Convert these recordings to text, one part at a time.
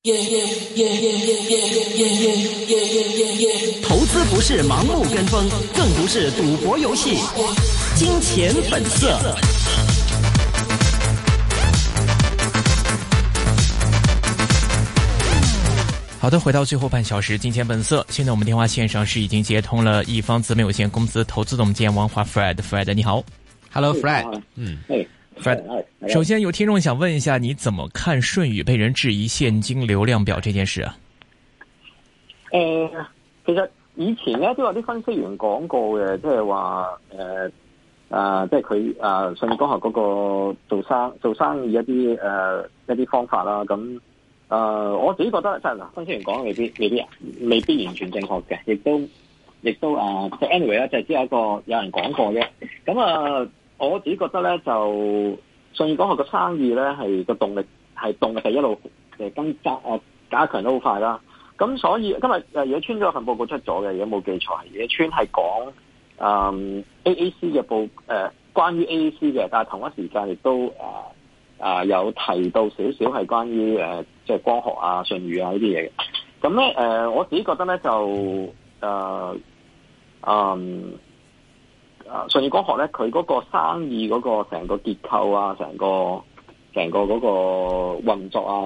投資不是盲目跟風，更不是賭博遊戲。金錢本色。好的，回到最後半小時，金錢本色。現在我們電話線上是已經接通了一方資本有限公司投資總監王華 Fred。Fred 你好。Hello Fred。Fred， 首先有聽眾想問一下，你怎麼看舜宇被人質疑現金流量表這件事啊？ 其實以前咧都有啲分析員講過嘅，即係話即係佢舜宇光學嗰個做生意一啲方法啦。咁我自己覺得即係分析員講未必完全正確嘅，亦都即係 anyway 咧，就係只有有人講過嘅。咁我自己覺得咧，就舜宇光學個生意咧係個動力係一路加強得好快啦。咁所以今日野村嗰份報告出咗嘅，如果冇記錯，野村係講AAC 嘅關於 AAC 嘅，但係同一時間亦都有提到少少係關於即係光學啊、舜宇啊呢啲嘢嘅。咁咧我自己覺得咧就舜宇光學咧，佢嗰個生意嗰個成個結構啊，成個嗰個運作啊，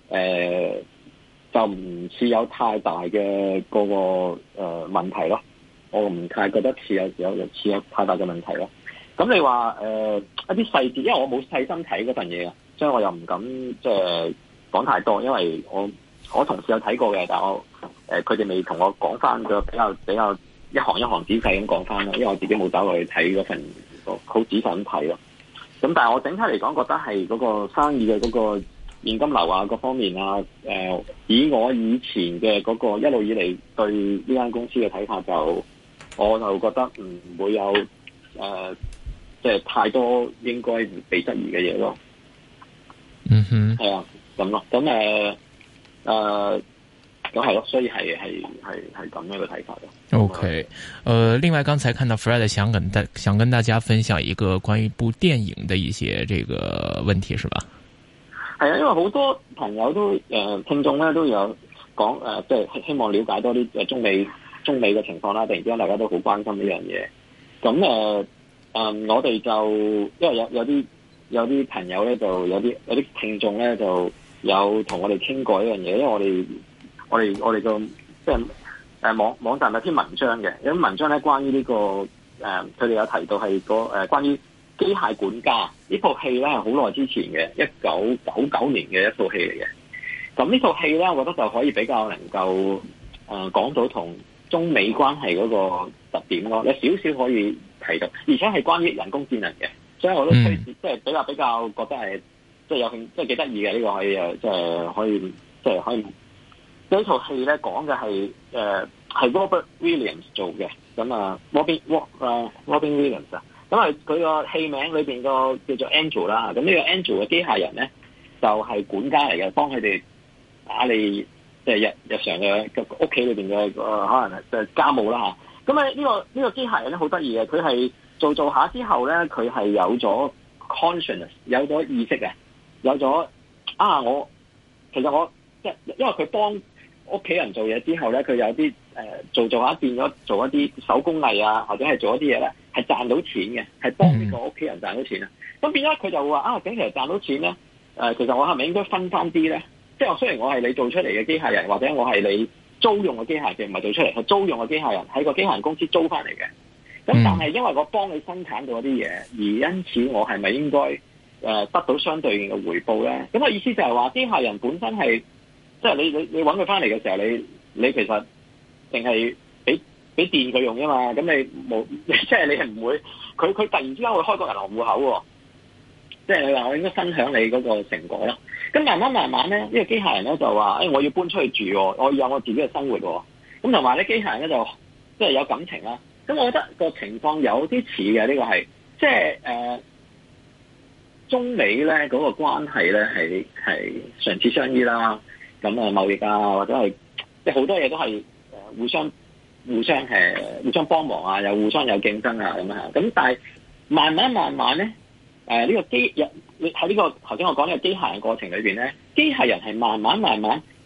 就唔似有太大嘅嗰個問題咯。我唔太覺得似有太大嘅問題咯。咁你話一啲細節，因為我冇細心睇嗰份嘢啊，所以我又唔敢即係講太多，因為我同事有睇過嘅，但係佢哋未同我講翻個比較一行一行仔細咁講翻咯，因為我自己冇走落去睇嗰份好仔細咁睇咯。咁但係我整體嚟講，覺得係嗰個生意嘅嗰個現金流啊，各方面啊，以我以前嘅嗰個一路以嚟對呢間公司嘅睇法，我就覺得唔會有即係太多應該被質疑嘅嘢咯。 嗯哼， 係啊，咁咯，咁咁係咯，所以係咁樣嘅睇法咯。 OK，另外剛才看到 Fred 想跟大家分享一個關於部電影的一些這個問題，是吧？ 係啊，因為好多朋友都聽眾咧都有講即係希望了解多啲中美嘅情況啦。突然之間大家都好關心呢樣嘢。咁我哋就因為有啲朋友咧，就有啲聽眾咧就有同我哋傾過呢樣嘢，因為我哋個即係網站有篇文章嘅，有啲文章咧關於呢個佢哋有提到係關於機械管家呢套戲咧，係好耐之前嘅1999年嘅一套戲嚟嘅。咁呢套戲咧，我覺得就可以比較能夠講到同中美關係嗰個特點咯，有少少可以提到，而且係關於人工智能嘅，所以我都推薦即係比較覺得係即係有興即係幾得意嘅，呢個可以即係可以。呢套戲咧講嘅係Robert Williams 做嘅，咁Robin Williams 啊，咁佢個戲名裏邊個叫做 Angel 啦，咁呢個 Angel 嘅機械人咧就係管家嚟嘅，幫佢哋打理即係日常嘅屋企裏邊嘅可能係家務啦嚇。咁呢個機械人咧好得意嘅，佢係做下之後咧，佢係有咗 consciousness， 有咗意識嘅，有咗其實我即係因為佢幫屋企人做嘢之後咧，佢有啲做下變咗做一啲手工藝啊，或者係做一啲嘢咧，係賺到錢嘅，係幫呢個屋企人賺到錢啊。咁變咗佢就話咁其實賺到錢咧，其實我係咪應該分翻啲咧？即係雖然我係你做出嚟嘅機械人，或者我係你租用嘅機械人，唔係做出嚟，係租用嘅機械人，喺個機械人公司租翻嚟嘅。咁但係因為我幫你生產到一啲嘢，而因此我係咪應該得到相對應嘅回報咧？咁意思就係話機械人本身係。即係你揾佢翻嚟嘅時候，你其實淨係俾電佢用啫嘛。咁你冇即係你係唔會佢突然之間會開個銀行戶口喎。即係你話我應該分享你嗰個成果啦。咁慢慢咧，呢個機械人咧就話我要搬出去住，我要有我自己嘅生活。咁同埋咧，機械人咧就即係有感情啦。咁我覺得個情況有啲似嘅，呢個係即係中美咧嗰個關係咧係唇齒相依啦。咁貿易啊，或者係即係好多嘢都係互相幫忙啊，又互相有競爭啊咁樣。咁但係慢慢咧，呢個喺呢個頭先我講呢個機械人過程裏邊咧，機械人係慢慢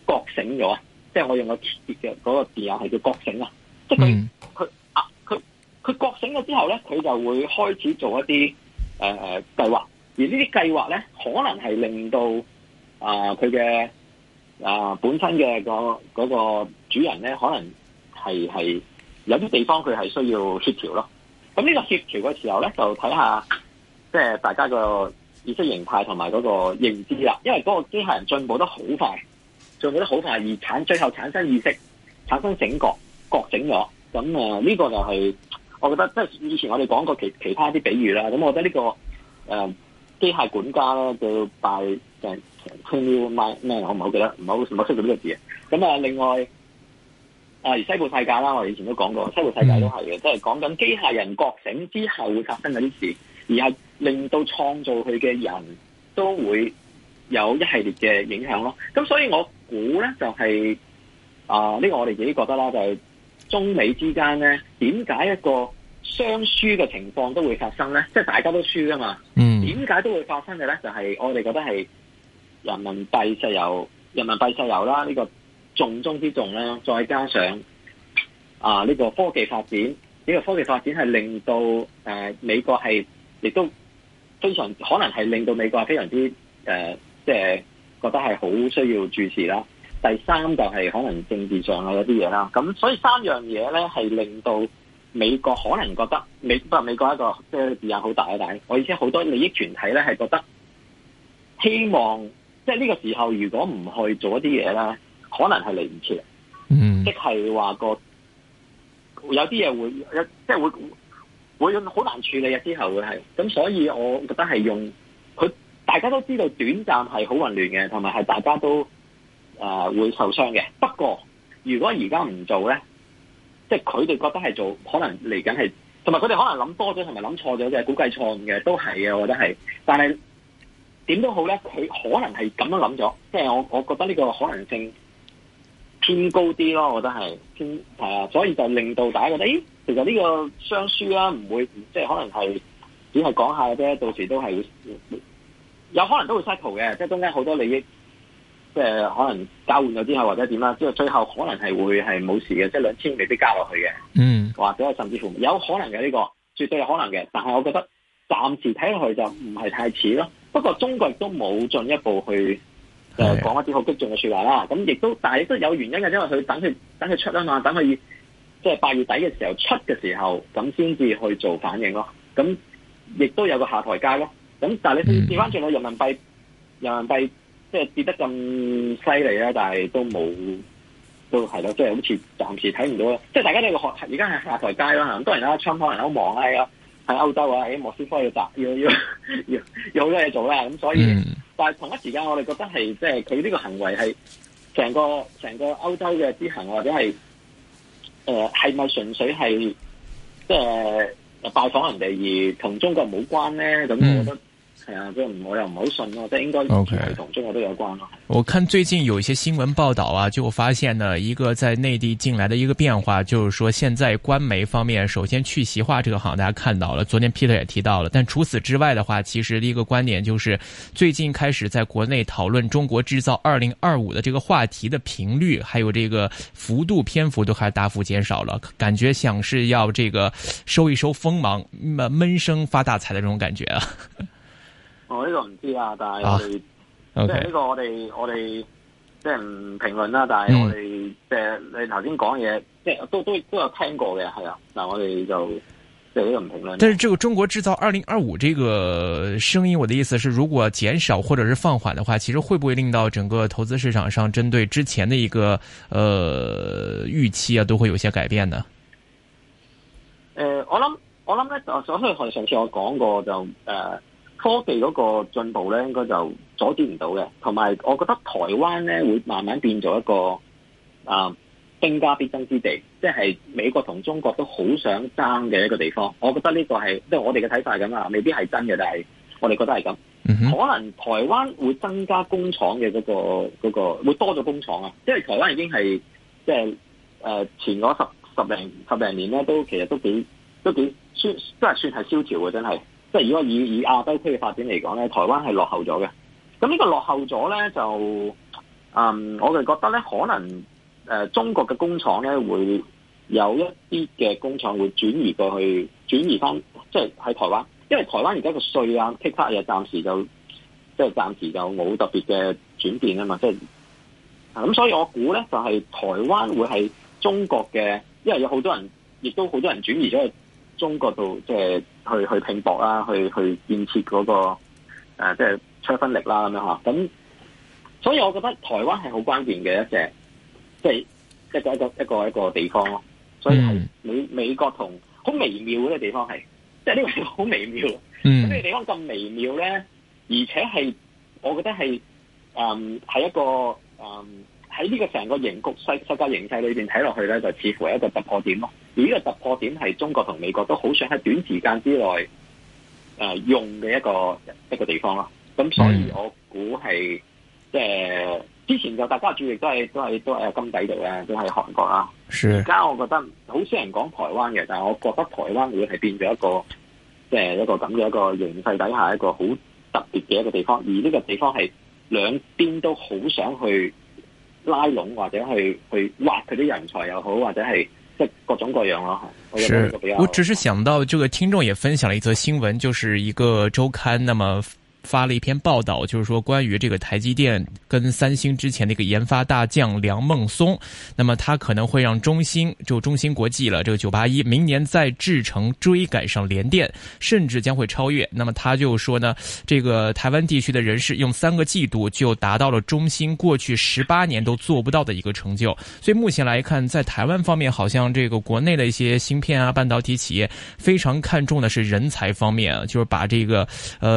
覺醒咗啊！即係我用個嘅嗰個字眼係叫覺醒啊！即係佢覺醒咗之後咧，佢就會開始做一啲計劃，而呢啲計劃咧可能係令到佢嘅本身嘅嗰個主人咧，可能係有啲地方佢係需要協調咯。咁呢個協調嘅時候咧，就睇下即係大家個意識形態同埋嗰個認知啦。因為嗰個機械人進步得好快，而最後產生意識、產生醒覺醒咗。咁呢個就係我覺得，即係以前我哋講過其他啲比喻啦。咁我覺得呢個機械管家咧叫拜誒 Camille 咩？我唔好記得，唔好識到呢個字。咁另外而西部世界啦，我哋以前都講過，西部世界都係嘅，即係講緊機械人覺醒之後會發生嗰啲事，而係令到創造佢嘅人都會有一系列嘅影響咯。咁所以我估咧就係呢個我哋自己覺得啦，就係中美之間咧，點解一個雙輸嘅情況都會發生咧？即係大家都輸噶嘛。點解都會發生嘅咧？就係我哋覺得係人民幣石油啦，呢個重中之重啦，再加上呢個科技發展，呢個科技發展係令到美國係亦都非常可能係令到美國係非常之即係覺得係好需要注視啦。第三就係可能政治上有啲嘢啦。咁所以三樣嘢咧係令到美國可能覺得美國一個即係字眼好大，但係我意思好多利益團體咧係覺得希望即係呢個時候如果唔去做一啲嘢咧，可能係嚟唔切。即係話有啲嘢會即係會好難處理嘅，之後會係咁，所以我覺得係用佢大家都知道短暫係好混亂嘅，同埋係大家都會受傷嘅。不過如果而家唔做咧，即係佢哋覺得係做，可能嚟緊係，同埋佢哋可能諗多咗，同埋諗錯咗嘅，估計錯誤嘅都係嘅，我覺得係。但係點都好咧，佢可能係咁樣諗咗，即係我覺得呢個可能性偏高啲咯，我覺得係偏所以就令到大家覺得，其實呢個雙輸啦，唔會即係可能係只係講下嘅啫，到時都係會有可能都會 cycle 嘅，即係中間好多利益，即係可能交換咗之後或者點啦，即係最後可能係會係冇事嘅，即係2000未必加落去嘅，或者甚至乎有可能嘅呢個，絕對有可能嘅，但係我覺得暫時睇落去就唔係太似咯。不過中國亦都冇進一步去講一啲好激進嘅說話啦。咁亦都，但係亦都有原因嘅，因為佢等佢出啊嘛，等佢即係8月底嘅時候出嘅時候，咁先至去做反應咯。咁亦都有個下台階咯。咁但係你調翻轉到人民幣即係跌得咁犀利啦，但係都係咯，即係好似暫時睇唔到啦。即係大家都而家係下台階啦。咁當然啦，Trump可能好忙啊，喺歐洲啊，喺莫斯科要好多嘢做啦。咁所以，但係同一時間我哋覺得係即係佢呢個行為係成個歐洲嘅之行，或者係係咪純粹係即係拜訪人哋而同中國冇關咧？咁我覺得。係啊，即係我又唔好信咯，即係應該同中國都有關咯。 我看最近有一些新聞報道啊，就發現呢一個在內地進來的一個變化，就是說現在官媒方面首先去習化這個行大家看到了，昨天 Peter 也提到了，但除此之外的話，其實一個觀點就是最近開始在國內討論中國製造2025的這個話題的頻率，還有這個幅度篇幅都開始大幅減少了，感覺像是要這個收一收鋒芒，悶聲發大財的這種感覺啊。 我呢個唔知啊，但係我哋即係呢個我哋即係唔評論啦。但係我哋即係你頭先講嘢，即係都有聽過嘅，係啊。嗱，我哋就即係呢個唔評論。 但是這個中國製造2025這個聲音，我的意思是，如果減少或者是放緩的話，其實會不會令到整個投資市場上針對之前的一個預期啊，都會有些改變呢？ 我諗咧，所以上次我講過就科技嗰個進步咧，應該就阻止唔到嘅。同埋，我覺得台灣咧會慢慢變做一個兵家必爭之地，即係美國同中國都好想爭嘅一個地方。我覺得呢個係即係我哋嘅睇法係咁啊，未必係真嘅，但係我哋覺得係咁。可能台灣會增加工廠嘅嗰個會多咗工廠啊，因為台灣已經係即係前嗰十零年咧，其實都幾算係蕭條嘅，真係。即係如果以亞洲區嘅發展嚟講咧，台灣係落後咗嘅。咁呢個落後咗咧，就我哋覺得咧，可能中國嘅工廠咧會有一啲嘅工廠會轉移翻，即係喺台灣，因為台灣而家個稅啊、剔卡嘢暫時就冇特別嘅轉變啊嘛，即係咁，所以我估咧就係台灣會係中國嘅，因為有好多人，亦都好多人轉移咗去中國度，即係去拼搏啦，去建設嗰個即係出分力啦咁樣嚇。咁所以我覺得台灣係好關鍵嘅一隻，即係一個地方咯。所以係美國同好微妙嘅地方係，即係呢個好微妙。咁呢個地方咁微妙咧，而且係我覺得係係一個喺呢個成個世界形勢裏邊睇落去咧，就似乎係一個突破點咯。而呢個突破點係中國同美國都好想喺短時間之內用嘅一個地方咯。咁所以我估係即係之前就大家注意都係金底度咧，都係韓國啦。而家我覺得好少人講台灣嘅，但係我覺得台灣會係變咗一個即係一個咁嘅一個形勢底下一個好特別嘅一個地方，而呢個地方係兩邊都好想去拉攏或者去挖佢啲人才又好，或者係即係各種各樣咯。 我只是想到這個聽眾也分享了一則新聞，就是一個週刊，那麼發了一篇報道，就是說關於這個台積電跟三星之前的一個研發大將梁孟松，那麼他可能會讓中芯國際了，這個981明年在製程追趕上聯電，甚至將會超越。那麼他就說呢，這個台灣地區的人士用3個季度就達到了中芯過去18年都做不到的一個成就。所以目前來看，在台灣方面，好像這個國內的一些芯片啊、半導體企業非常看重的是人才方面，就是把這個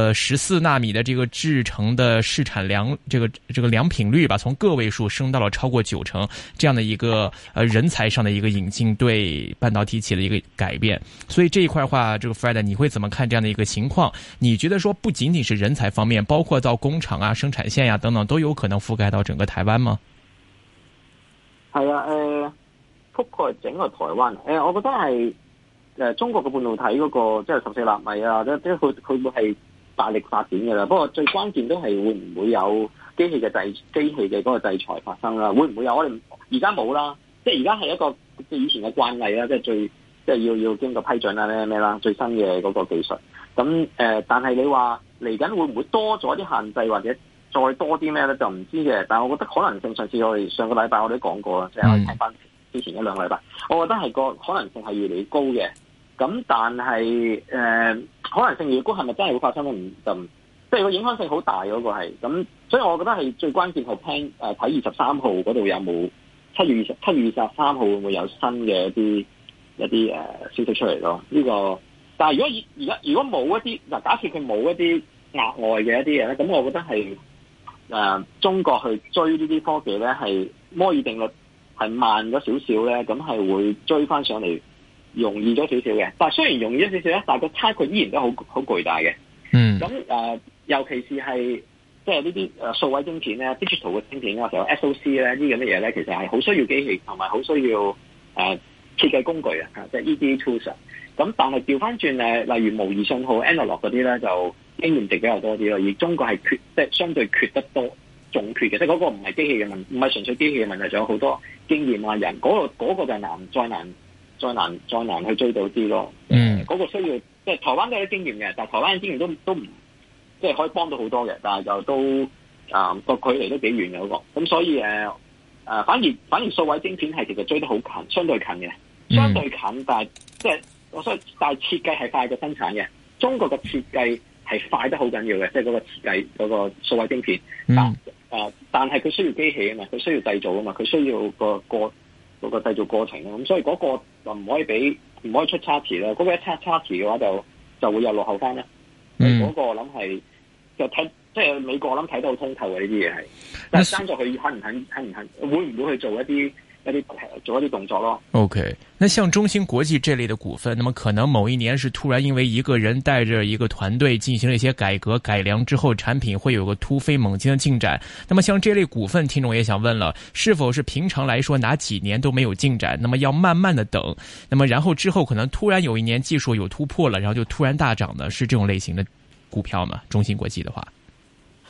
14納米的這個製程的市產良這個良品率吧，從個位數升到了超過90%，這樣的一個人才上的一個引進對半導體企業的一個改變。所以這一塊的話，這個 Fred 你會怎麼看這樣的一個情況？你覺得說不僅僅是人才方面，包括到工廠啊、生產線呀、等等，都有可能覆蓋到整個台灣嗎？ 係啊，覆蓋整個台灣。我覺得係中國嘅半導體嗰個即係14納米啊，即係佢會係大力發展嘅啦，不過最關鍵都係會唔會有機器嘅嗰個制裁發生啦？會唔會有？我哋而家冇啦，即係而家係一個即係以前嘅慣例啦，即係要經過批准啦咩啦，最新嘅嗰個技術。咁但係你話嚟緊會唔會多咗啲限制，或者再多啲咩咧？就唔知嘅。但係我覺得可能性，上次我哋上個禮拜我哋都講過啦，即係我哋睇翻之前1-2個禮拜，我覺得係個可能性係越嚟越高嘅。咁但係可能性越高，係咪真係會發生咧？即係個影響性好大嗰個係咁，所以我覺得係最關鍵係睇23號嗰度有冇7月23號會唔會有新嘅一啲消息出嚟咯？呢個但係如果冇一啲嗱，假設佢冇一啲額外嘅一啲嘢咧，咁我覺得係中國去追呢啲科技咧，係摩爾定律係慢咗少少咧，咁係會追翻上嚟。容易咗少少嘅，但係雖然容易咗少少咧，但係個差距依然都好巨大嘅。咁尤其是係即係呢啲數位晶片咧、digital 嘅晶片咧，或者 SOC 咧呢啲咁嘅嘢咧，其實係好需要機器同埋好需要設計工具啊，即係 EDA tools。咁但係調翻轉例如模擬信號 analog 嗰啲咧，就經驗值比較多啲咯。而中國係即係相對缺得多，仲缺嘅，即係嗰個唔係機器嘅問題，唔係純粹機器嘅問題，仲有好多經驗啊人，嗰個就再難去追到啲咯。嗰個需要即係台灣都有啲經驗嘅，但係台灣嘅經驗都唔即係可以幫到好多嘅，但係就都個距離都幾遠嘅嗰個。咁所以反而數位晶片係其實追得好近，相對近嘅，相對近，但係即係但係設計係快過生產嘅。中國嘅設計係快得好緊要嘅，即係嗰個設計嗰個數位晶片。但係佢需要機器啊嘛，佢需要製造啊嘛，佢需要個製造過程啊，咁所以嗰個就唔可以出差池啦。嗰個一出差池嘅話就會又落後翻啦。嗰個我諗係就睇即係美國我諗睇得好通透嘅呢啲嘢係，但係爭咗佢肯唔肯，會唔會去做一啲動作咯。 OK， 那像中芯國際這類的股份，那麼可能某一年是突然因為一個人帶着一個團隊進行了一些改革改良之後，產品會有個突飛猛進的進展。那麼像這類股份，聽眾也想問了，是否是平常來說哪幾年都沒有進展，那麼要慢慢的等，那麼然後之後可能突然有一年技術有突破了，然後就突然大漲呢？是這種類型的股票嗎？中芯國際的話？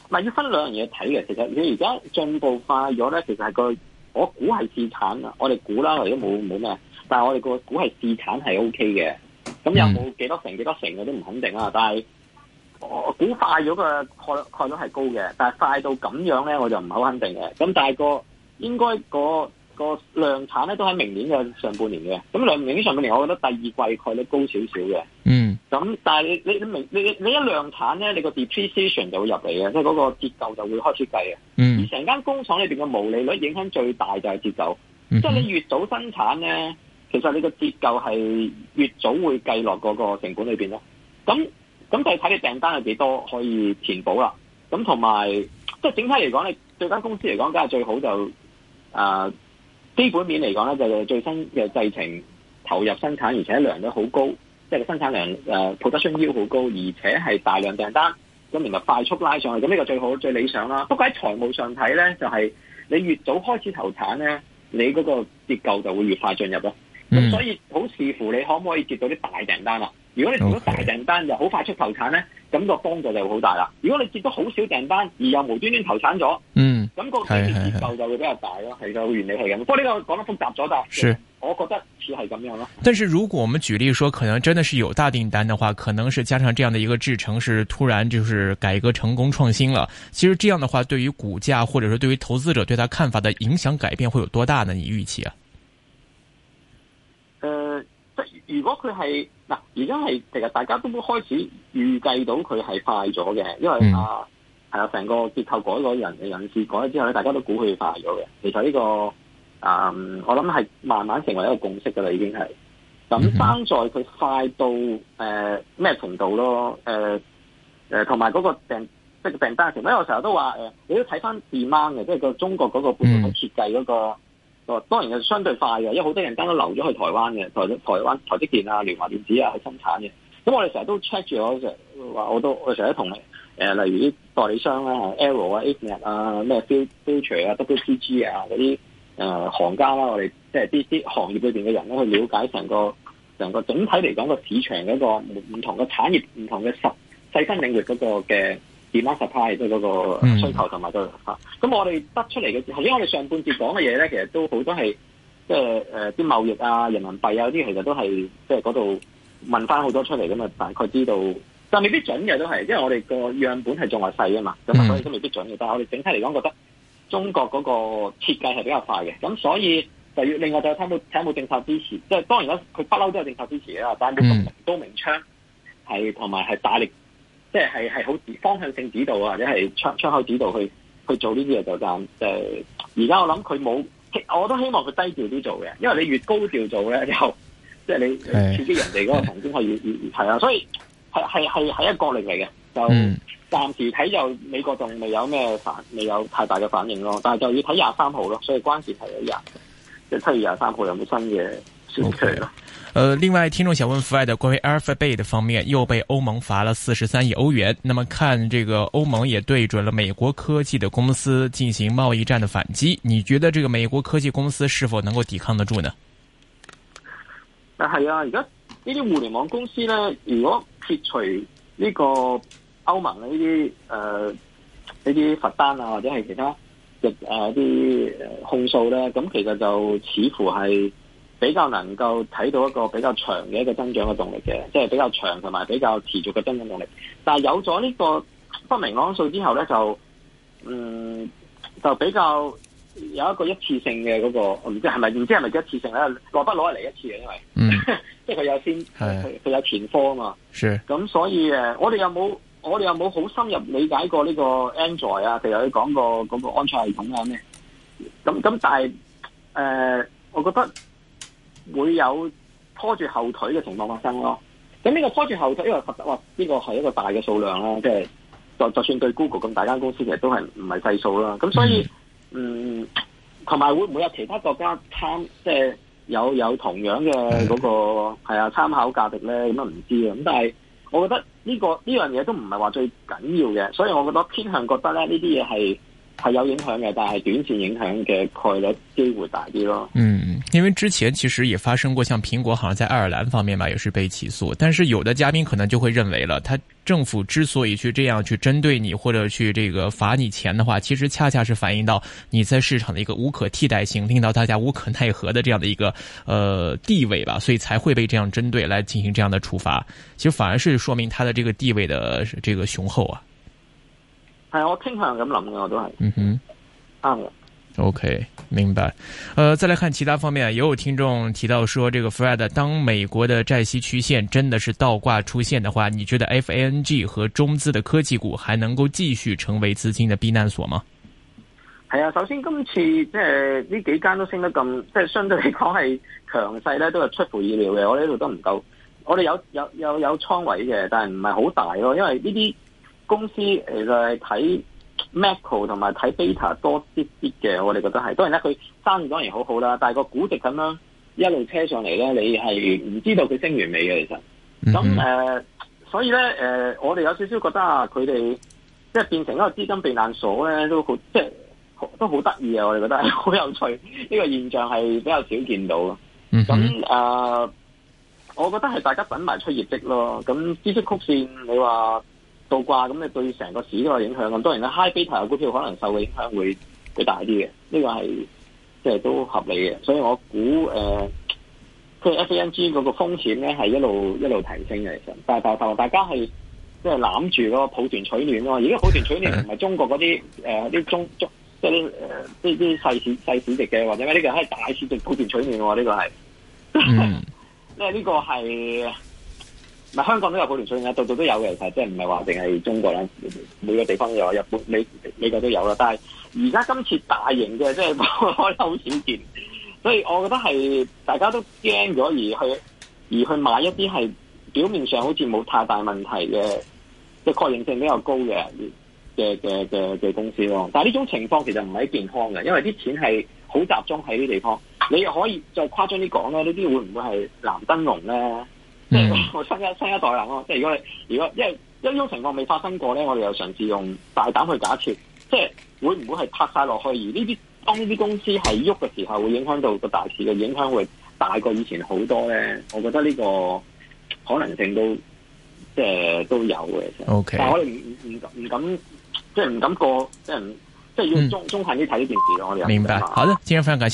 係要分兩樣嘢睇嘅。其實你而家進步快咗咧，其實係我估係試產啊，我哋估啦，或者冇咩，但係我哋個估係試產係 O K 嘅。咁有冇幾多成我都唔肯定啦。但係我估快咗嘅概率係高嘅，但係快到咁樣咧，我就唔係好肯定嘅。咁但係應該個量產咧都喺明年嘅上半年嘅。咁明年上半年，我覺得第二季概率高少少嘅。咁但係你一量產咧，你個 depreciation 就會入嚟嘅，即係嗰個折舊就會開始計嘅。而成間工廠裏邊嘅毛利率影響最大就係折舊。即係你越早生產咧，其實你個折舊係越早會計落嗰個成本裏邊咯。咁就睇你訂單有幾多可以填補啦。咁同埋即係整體嚟講，你對間公司嚟講，梗係最好就基本面嚟講咧，就最新嘅製程投入生產，而且量都好高，即係個生產量production yield好高，而且係大量訂單，咁然後快速拉上去，咁呢個最好最理想啦。不過喺財務上睇咧，就係你越早開始投產咧，你嗰個折舊就會越快進入咯。咁所以好視乎你可唔可以接到啲大訂單啦。如果你接到大訂單又好快速投產咧，咁個幫助就會好大啦。如果你接到好少訂單而又無端端投產咗，咁個折舊就會比較大咯。係個原理係咁。不過呢個講得複雜咗，但係我覺得似係咁樣咯。 但是如果我們舉例說，可能真的是有大訂單的話，可能是加上這樣的一個製程是突然就是改革成功創新了。其實這樣的話，對於股價或者說對於投資者對他看法的影響改變會有多大呢？你預期啊？ 如果佢係嗱，而家係其實大家都開始預計到佢係快咗嘅，因為成個結構改咗人事改咗之後咧，大家都估佢快咗嘅。其實呢個我諗係慢慢成為一個共識噶啦，已經係。咁爭在佢快到咩程度咯？同埋嗰個即係訂單程度。因為我成日都話你都睇翻 demand 嘅，即係個中國嗰個半導體設計嗰個。當然係相對快嘅，因為好多人間都留咗去台灣嘅，台積電啊、聯華電子啊去生產嘅。咁我哋成日都 check 住，我成日同例如啲代理商啦，Arrow 啊、ASML 啊、咩 Future 啊、WPG 啊嗰啲行家啦，我哋即係啲行業裏邊嘅人咧，去了解成個整體嚟講個市場嗰個唔同嘅產業、唔同嘅細分領域嗰個嘅 demand supply 即係嗰個需求同埋個咁我哋得出嚟嘅，頭先我哋上半節講嘅嘢咧，其實都好多係即係啲貿易啊、人民幣啊嗰啲，其實都係即係嗰度問翻好多出嚟咁啊，大概知道，但未必準嘅都係，因為我哋個樣本係仲係細啊嘛，咁所以都未必準嘅。但係我哋整體嚟講，覺得中國嗰個設計係比較快嘅，咁所以就要另外就睇有冇政策支持，即係當然啦，佢不嬲都有政策支持啦，但係冇咁明刀明槍，係同埋係大力。即係好方向性指導啊，或者係窗口指導去做呢啲嘢就而家我諗佢冇，我都希望佢低調啲做嘅，因為你越高調做咧，就即係你刺激人哋嗰個神經可以係啊，所以係一個角力嚟嘅，就暫時睇就美國仲未有太大嘅反應咯，但係就要睇23號咯，所以關鍵係即係7月23號有冇新嘅消息咯。 另外，聽眾想問 Fred 關於 Alphabet 方面，又被歐盟罰了43億歐元。那麼看這個歐盟也對準了美國科技的公司進行貿易戰的反擊，你覺得這個美國科技公司是否能夠抵抗得住呢？ 係啊，而家呢啲互聯網公司咧，如果撇除呢個歐盟呢啲罰單啊，或者係其他啲控訴咧，咁其實就似乎係比較能夠睇到一個比較長嘅一個增長嘅動力嘅，即係比較長同埋比較持續嘅增長動力。但係有咗呢個不明朗因素之後咧，就比較有一個一次性嘅嗰個，唔知係咪一次性咧？來不攞嚟一次嘅，因為即係佢有佢有前科啊嘛。咁所以我哋有冇好深入理解過呢個 Android 啊？譬如你講過嗰個安卓系統啊咩？咁但係我覺得會有拖住後腿嘅情況發生咯。咁呢個拖住後腿，因為呢個係一個大嘅數量啦，即係就算對 Google 咁大間公司，其實都係唔係細數啦。咁所以同埋會唔會有其他國家即係有同樣嘅嗰個參考價值咧？咁啊唔知啊。咁但係我覺得呢樣嘢都唔係話最緊要嘅，所以我覺得偏向覺得咧呢啲嘢係係有影響嘅，但係短線影響嘅概率機會大啲咯。 因為之前其實也發生過，像蘋果好像在愛爾蘭方面吧，也是被起訴。但是有的嘉賓可能就會認為了，他政府之所以去這樣去針對你或者去這個罰你錢的話，其實恰恰是反映到你在市場的一個無可替代性，令到大家無可奈何的這樣的一個地位吧，所以才會被這樣針對來進行這樣的處罰。其實反而是說明他的這個地位的這個雄厚啊。 係，我傾向咁諗嘅，我都係。啱嘅。 OK，明白。再來看其他方面，也有聽眾提到說，這個 Fred， 當美國的債息曲線真的是倒掛出現的話，你覺得 FANG 和中資的科技股還能夠繼續成為資金的避難所嗎？ 係啊，首先今次即係呢幾間都升得咁，即係相對嚟講係強勢咧，都係出乎意料嘅。我哋呢度都唔夠，我哋有倉位嘅，但係唔係好大咯，因為呢啲公司其實係睇 macro 同埋睇 beta 多啲嘅，我哋覺得係。當然啦，佢生意當然好好啦，但係個估值咁樣一路車上嚟咧，你係唔知道佢升完未嘅其實。咁所以咧我哋有少少覺得啊，佢哋即係變成一個資金避難所咧，都好即係都好得意啊！我哋覺得係好有趣，呢個現象係比較少見到。咁我覺得係大家等埋出業績咯。咁孳息曲線你話倒掛，咁你對成個市都有影響。咁當然啦 ，high beta 嘅股票可能受嘅影響會大啲嘅，呢個係即係都合理嘅。所以我估即係 FANG 嗰個風險咧係一路提升嘅。其實，但係大家係即係攬住嗰個抱團取暖咯。而家抱團取暖唔係中國嗰啲啲中即係啲細市值嘅，或者咩呢個係大市值抱團取暖喎。呢個係，因為呢個係。唔係香港都有抱團取暖，度度都有嘅，其實即係唔係話淨係中國啦，每個地方都有，日本、美國都有啦。但係而家今次大型嘅，即係我好少見，所以我覺得係大家都驚咗而去買一啲係表面上好似冇太大問題嘅，即係確認性比較高嘅公司咯。但係呢種情況其實唔係健康嘅，因為啲錢係好集中喺啲地方。你又可以再誇張啲講啦，呢啲會唔會係藍燈籠咧？即係我新一代人咯，即係如果因為呢種情況未發生過咧，我哋又嘗試用大膽去假設，即係會唔會係拍晒落去？而當呢啲公司係喐嘅時候，會影響到個大市嘅影響會大過以前好多咧。我覺得呢個可能性都即係都有嘅。 OK， 但係我哋唔敢，即係唔敢過，即係要中肯啲睇呢件事咯。我哋明白。好的，今日非常感謝。